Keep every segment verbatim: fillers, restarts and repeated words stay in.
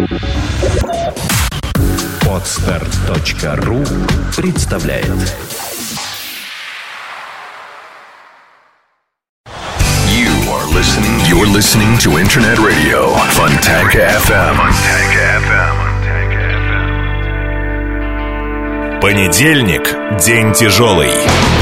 Подстер точка ру представляет. You are listening. You're listening to Internet Radio Fontanka эф эм. Fontanka эф эм. Понедельник – день тяжелый.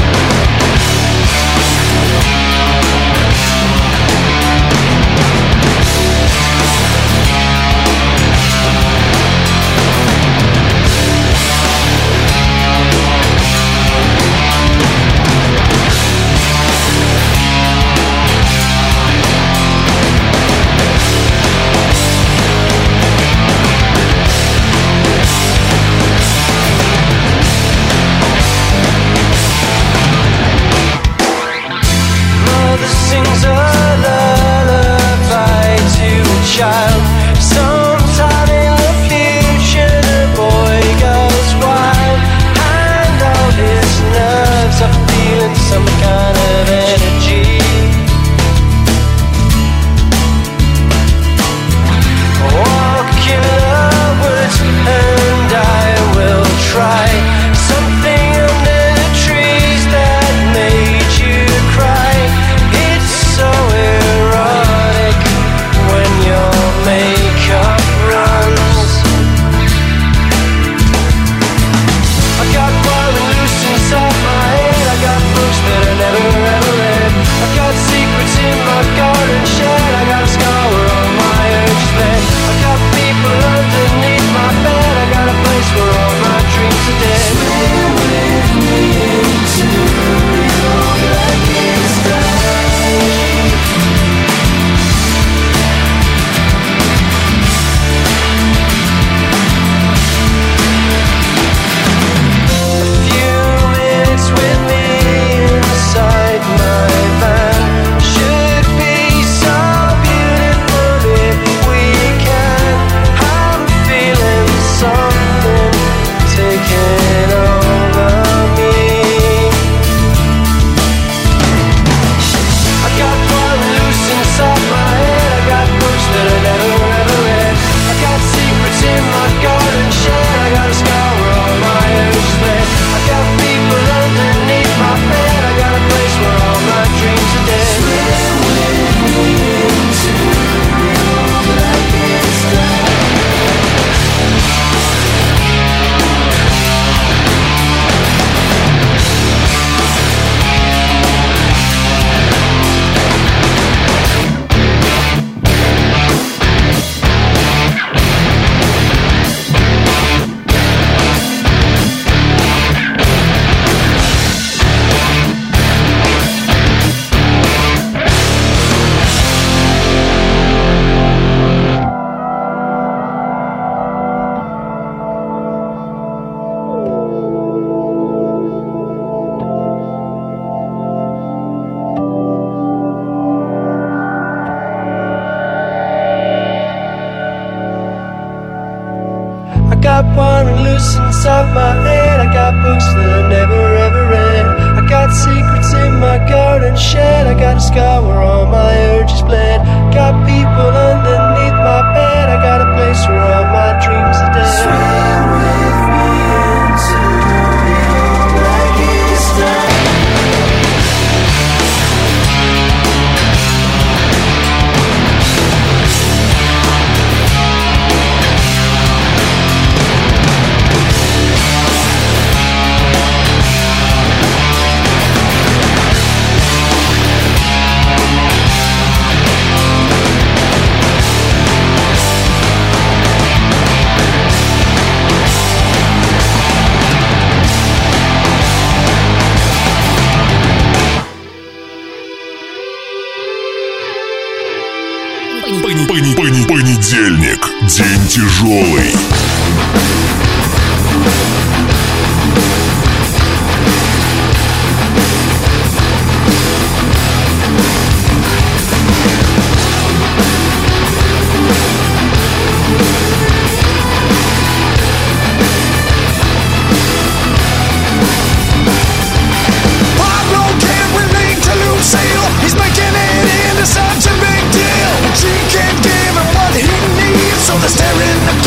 Понедельник. День тяжелый. She can't give him what he needs, so they're staring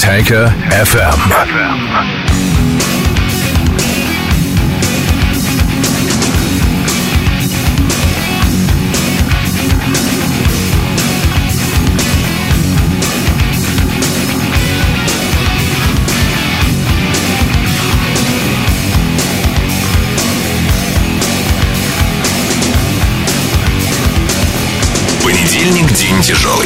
Fontanka эф эм. Понедельник — день тяжелый.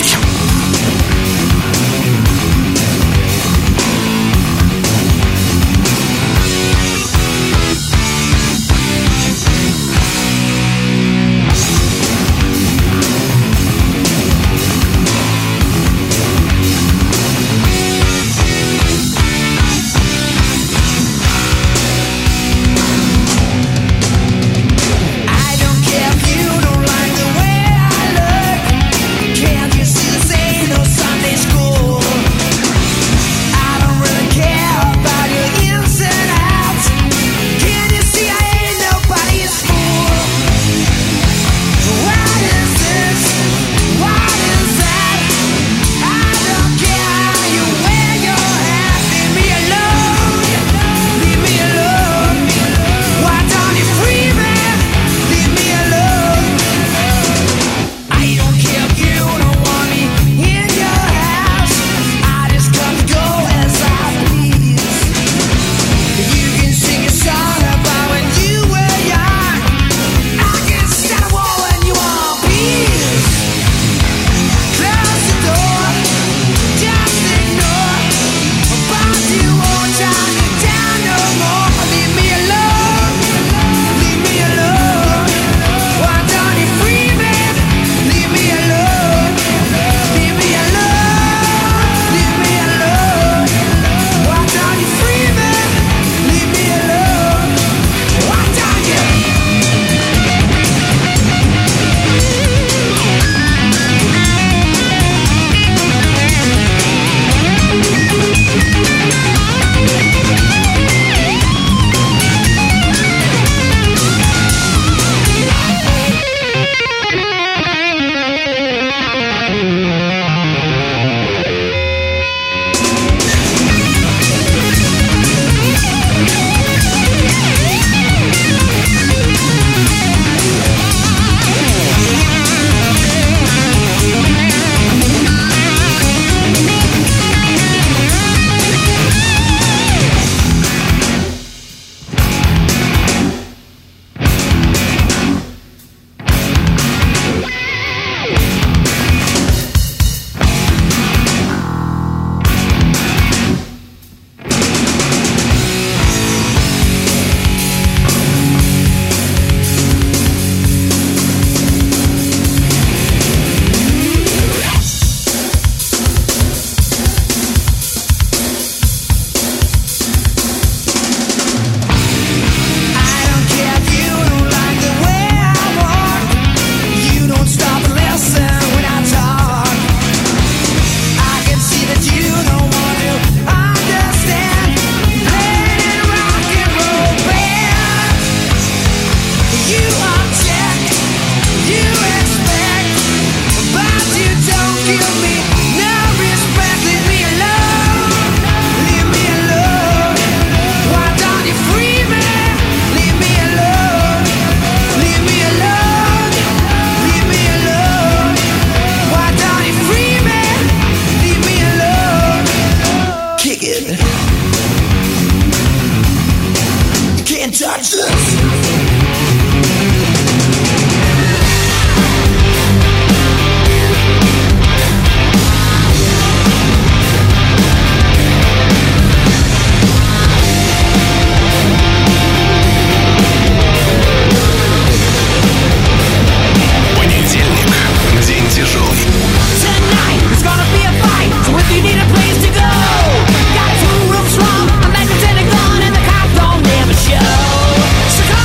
Got two rooms from a magnetic gun and the cops don't ever show. So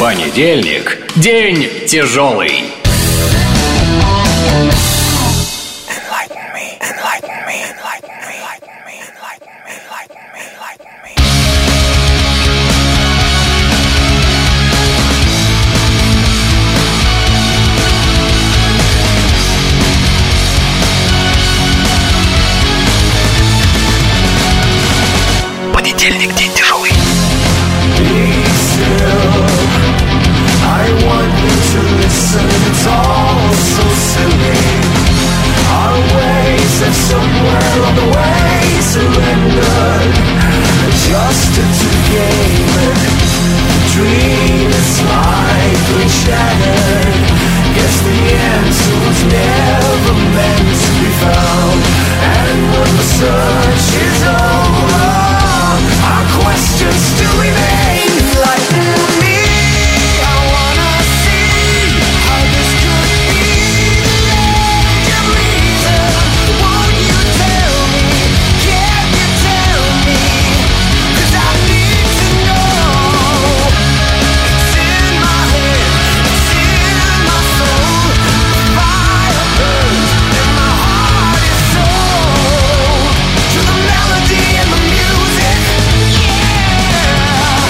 Понедельник – день тяжелый. Понедельник, день тяжелый. Yeah.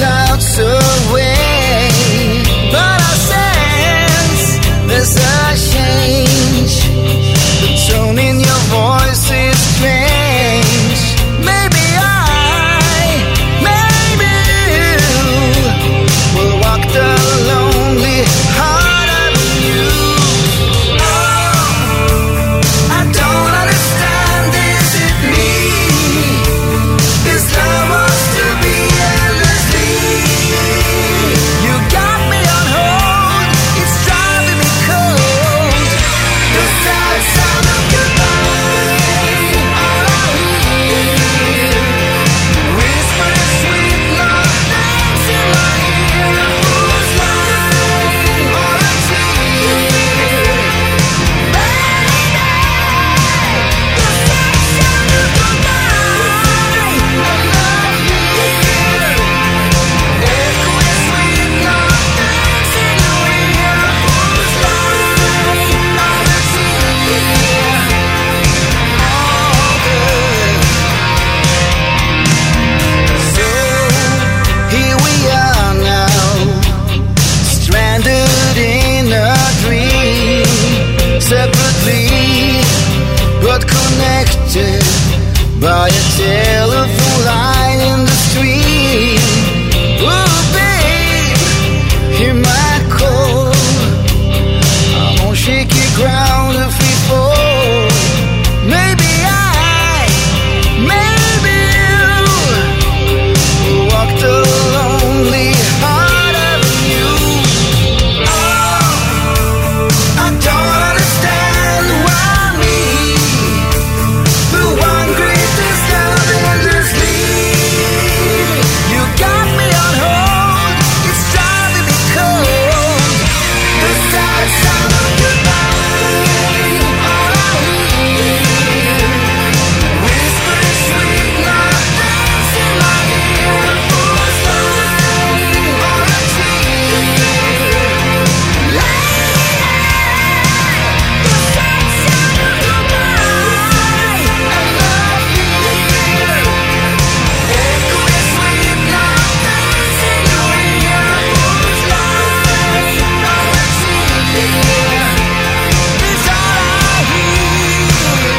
clouds away, but I sense there's a change. The tone in your voice is strange. Maybe I, maybe you will walk the lonely heart avenue. Oh, I don't understand, is it me? This love wants to be endlessly. You got me on hold, it's driving me cold. The sad sound of goodbye, all I hear, whispering sweet love names in my ear. Who's lying or a tear? Baby, the sad sound of goodbye, all I hear, echoing sweet love names in your ear. Who's lying or a tear? All good. So here we are now, stranded in a dream, separately but connected by a telephone line in the stream. Oh, babe, hear my call. I'm on shaky ground if we fall. Maybe I, maybe you will walk the lonely heart avenue. Oh, I don't understand why me, the one greatest love endlessly. You got me on hold, it's driving me cold. The sad sound of goodbye, all I hear, whispering sweet love names in my ear. Who's lying or a tear? Lady, the sad sound of goodbye, and love here, echoing sweet love names in your ear. Who's lying or a tear? Is all I hear.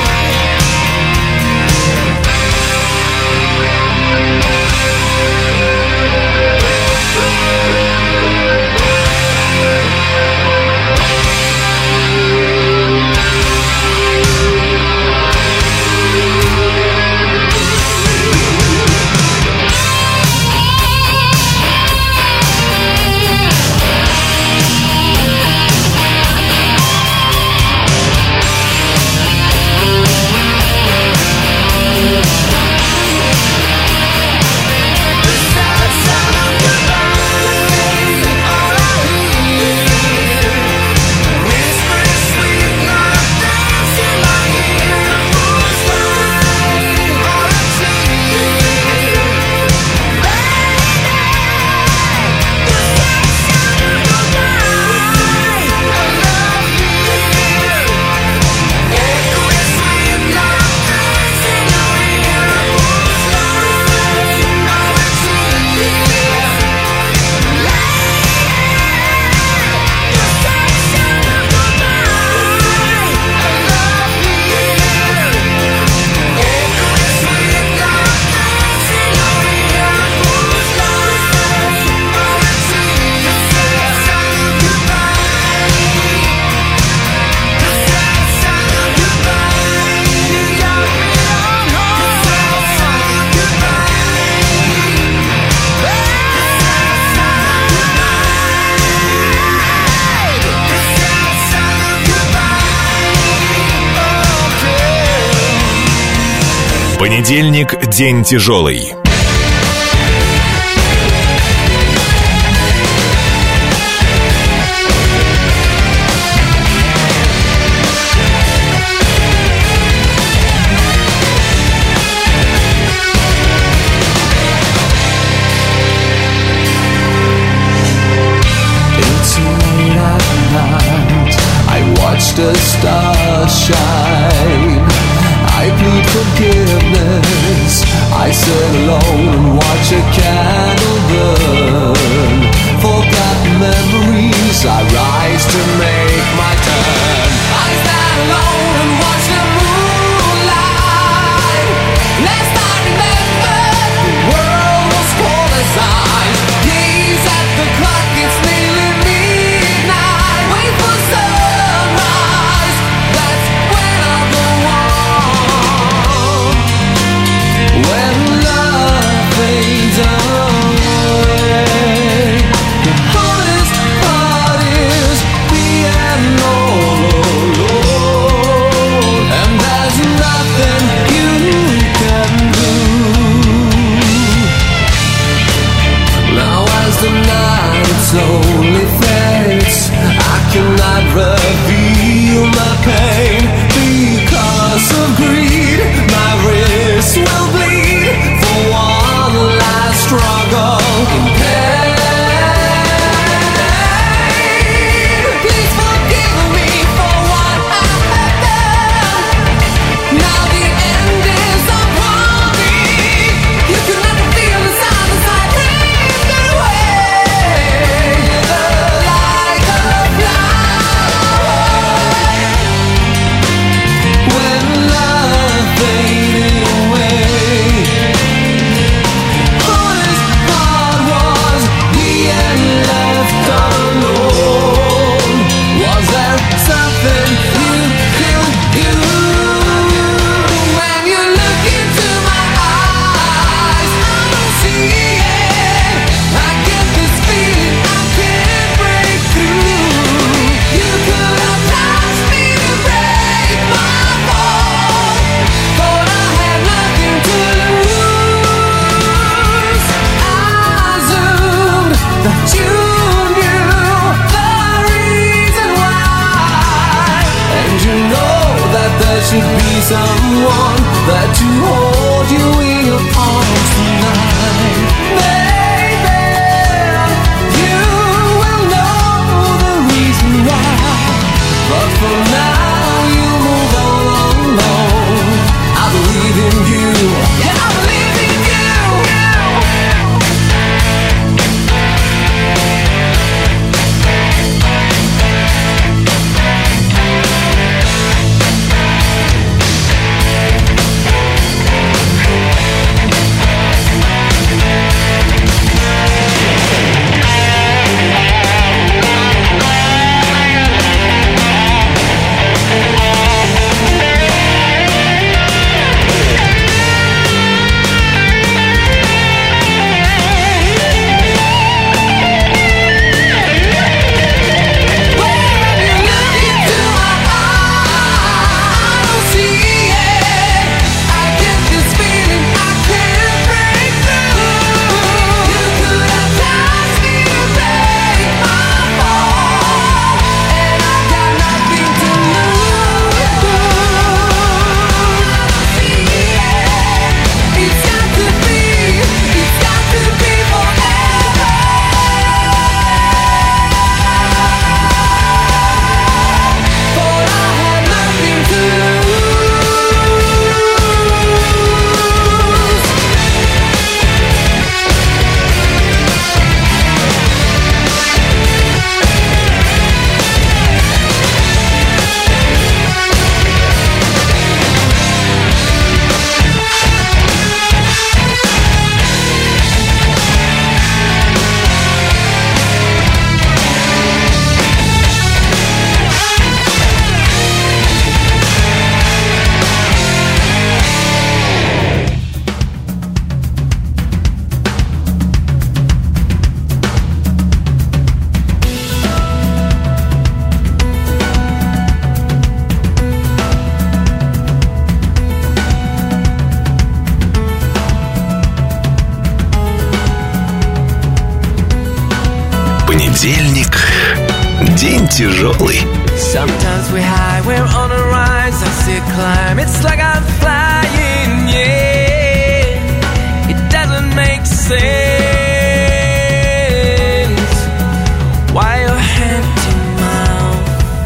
The sad sound of goodbye, all I hear, whispering sweet love names in my ear. Who's lying or a tear? Baby, the sad sound of goodbye, and love here, echoing sweet love names in your ear. Who's lying or a tear? The sad sound of goodbye, and love here, echoing sweet love names in your ear. Who's lying or a tear? The sad sound of goodbye, the sad sound of goodbye. You got me on hold. The sad sound of goodbye, the sad sound of goodbye, the sad sound of goodbye. Okay. Понедельник – день тяжелый. It's late at night, I watched a star shine. I plead forgiveness, I sit alone and watch a candle burn. night slowly fades. I cannot reveal my pain because of greed. My wrist will bleed for one last struggle in pain. Please forgive me for what I have done. Now the end is upon me. You can never feel the sound as I take away the light of life. When love faded away, honest heart was he and left alone. Was there something you could do? When you look into my eyes, I don't see it. I get this feeling I can't break through. You could have touched me to break my fall. Thought I had nothing to lose. I assumed that you knew the reason why, and you know that there should be someone that to hold you in your arms tonight. Baby, you will know the reason why. But for now, you move on alone. I believe in you. Yeah, I believe in you. When you look into my eyes, I don't see it. I get this feeling I can't break through. You could have touched me to break my fall, and I got nothing to lose. It's got to be, it's got to be forever. Thought I had nothing to Понедельник. День тяжелый. Sometimes we high, we're on a rise. I see a climb, it's like I'm flying, yeah. It doesn't make sense. Why your hand to mouth?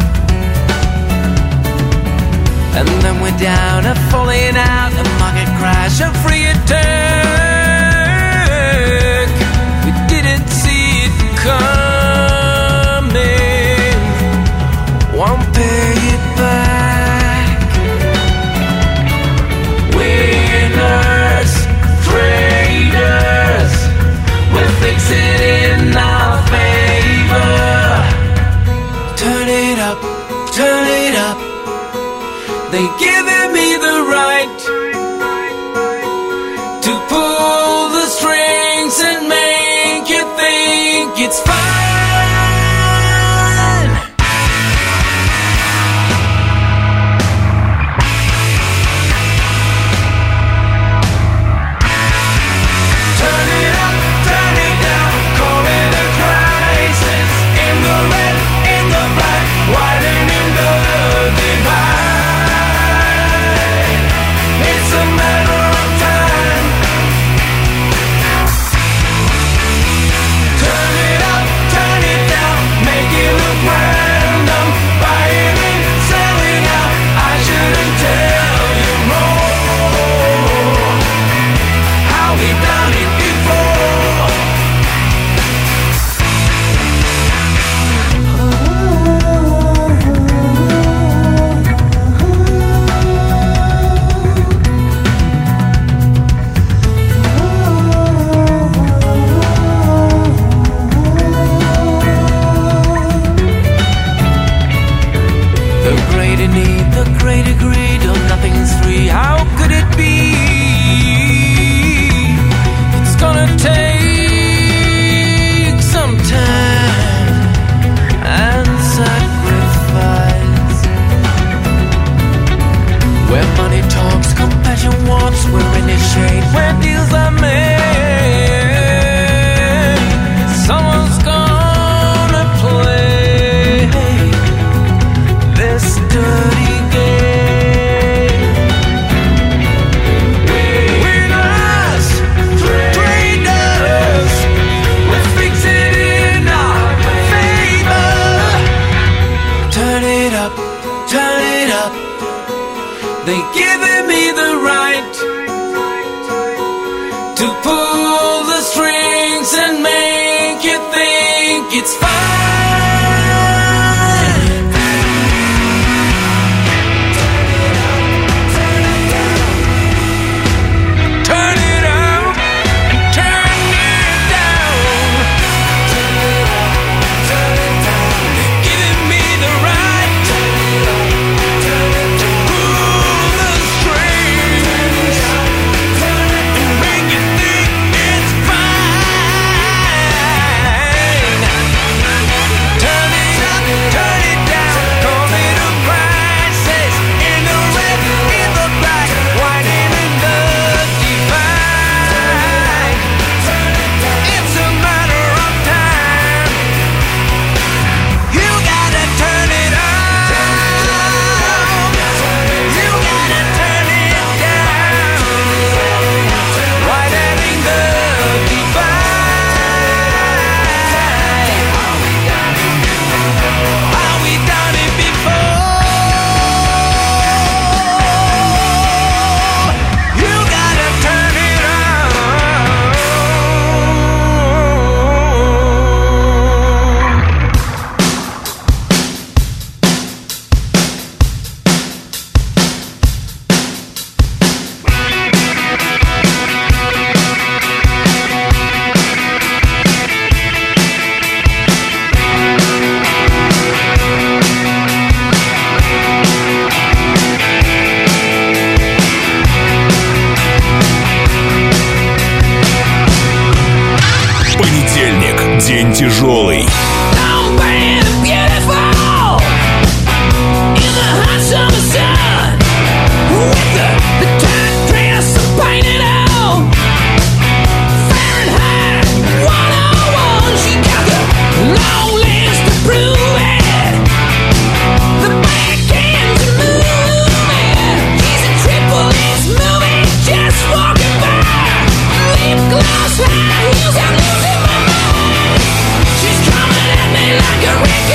And then we're down, a falling out, a market crash, a free attack. We didn't see it coming. Won't pay it back. Winners, traders, we'll fix it in our favor. Turn it up, turn it up. They giving me the right to pull the strings and make you think it's fine. Turn it up, turn it down, call it a they giving me the right to pull the strings and make you think it's fine. Turn it up and turn it down. They're giving me the right to pull the strings and make you think it's fine. Turn it up, turn it down, call me the crisis. In the red, in the black, white and in the divine. It's a matter of time. You gotta turn it up. You gotta turn it down. White and in the divine. How we done it before? You gotta turn it on. Понедельник. День тяжелый. Long and beautiful in the hot summer sun, with the, the tight dress painted on. Fahrenheit one oh one, she got the long list to prove it. The back ends are moving, she's a triple X movie, just walking by. Lip gloss, high heels, I'm losing my mind. She's coming at me like a wreck.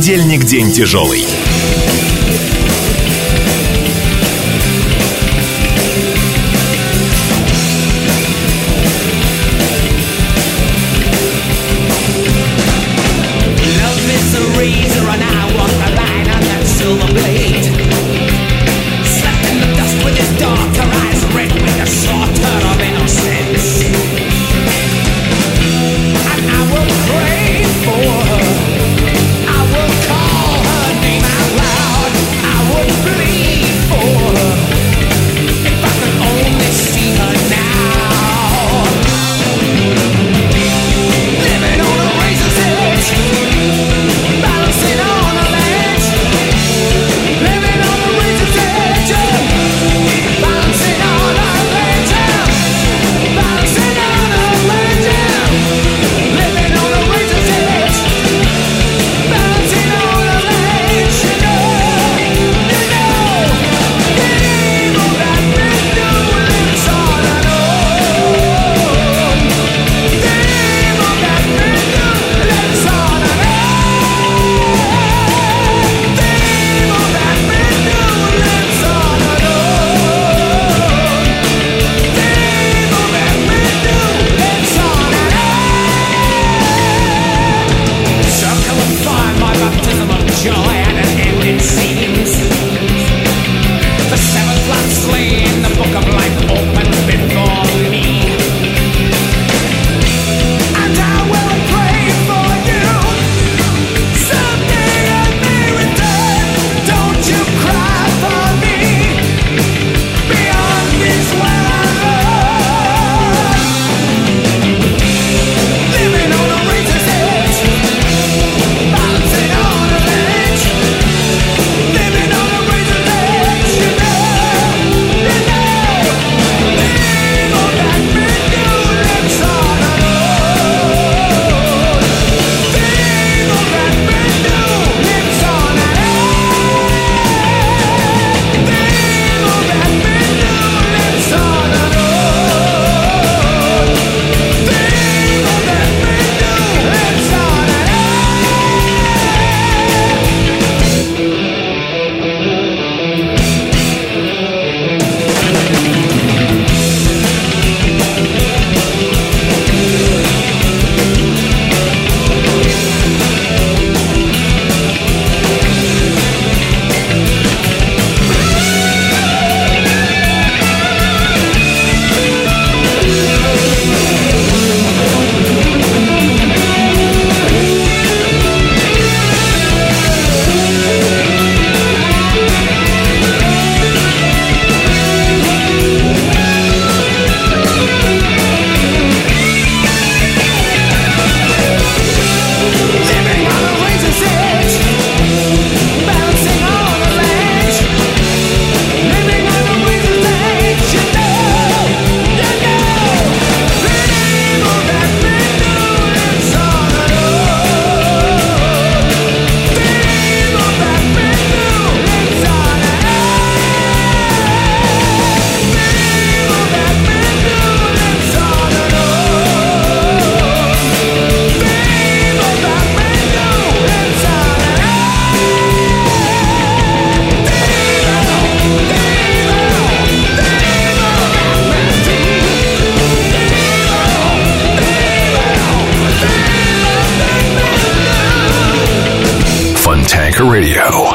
Понедельник день тяжелый. Funtanker Radio.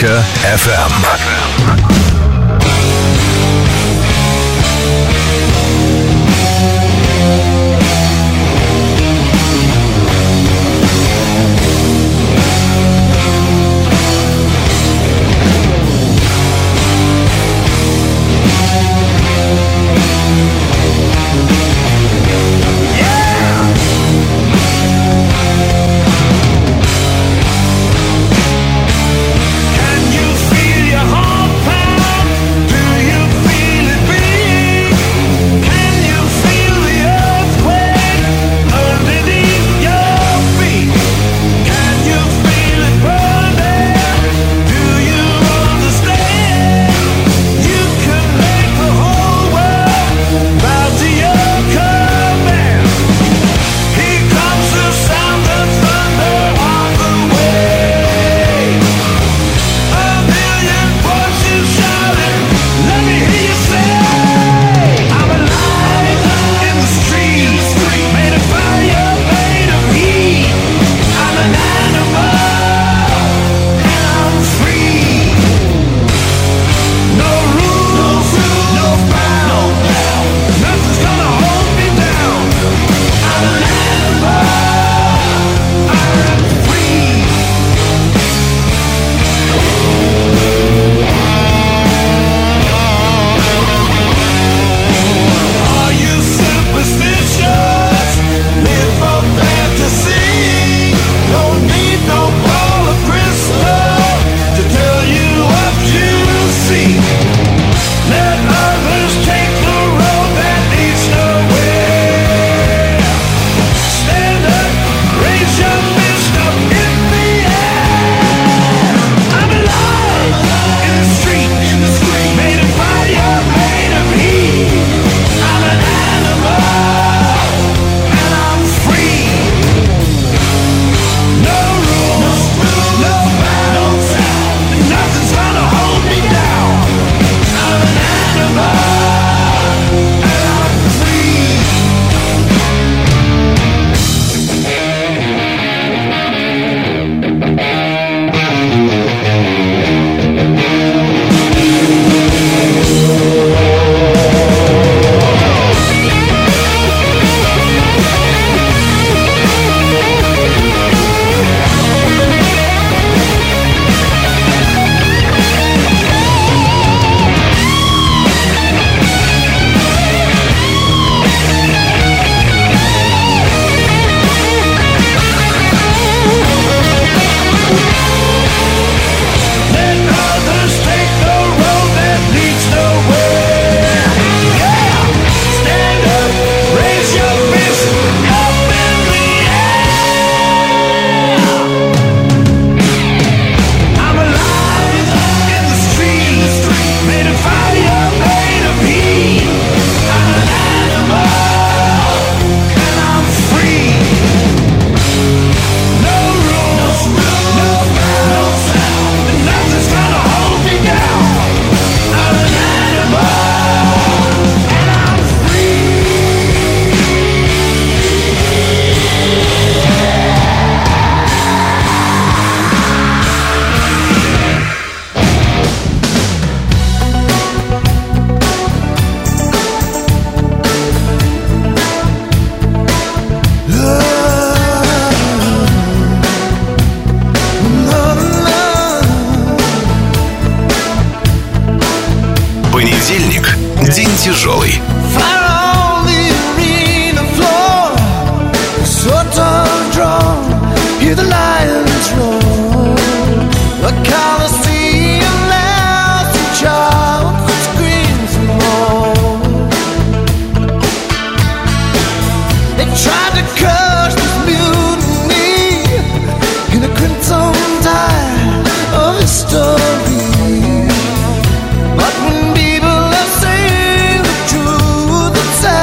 эф эм. Понедельник. День тяжелый. But when people are saying the truth, it's sad.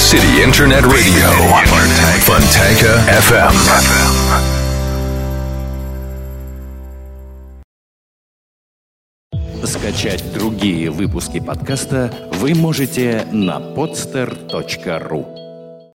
City Internet Radio. Fontanka эф эм. Скачать другие выпуски подкаста вы можете на podster точка ру.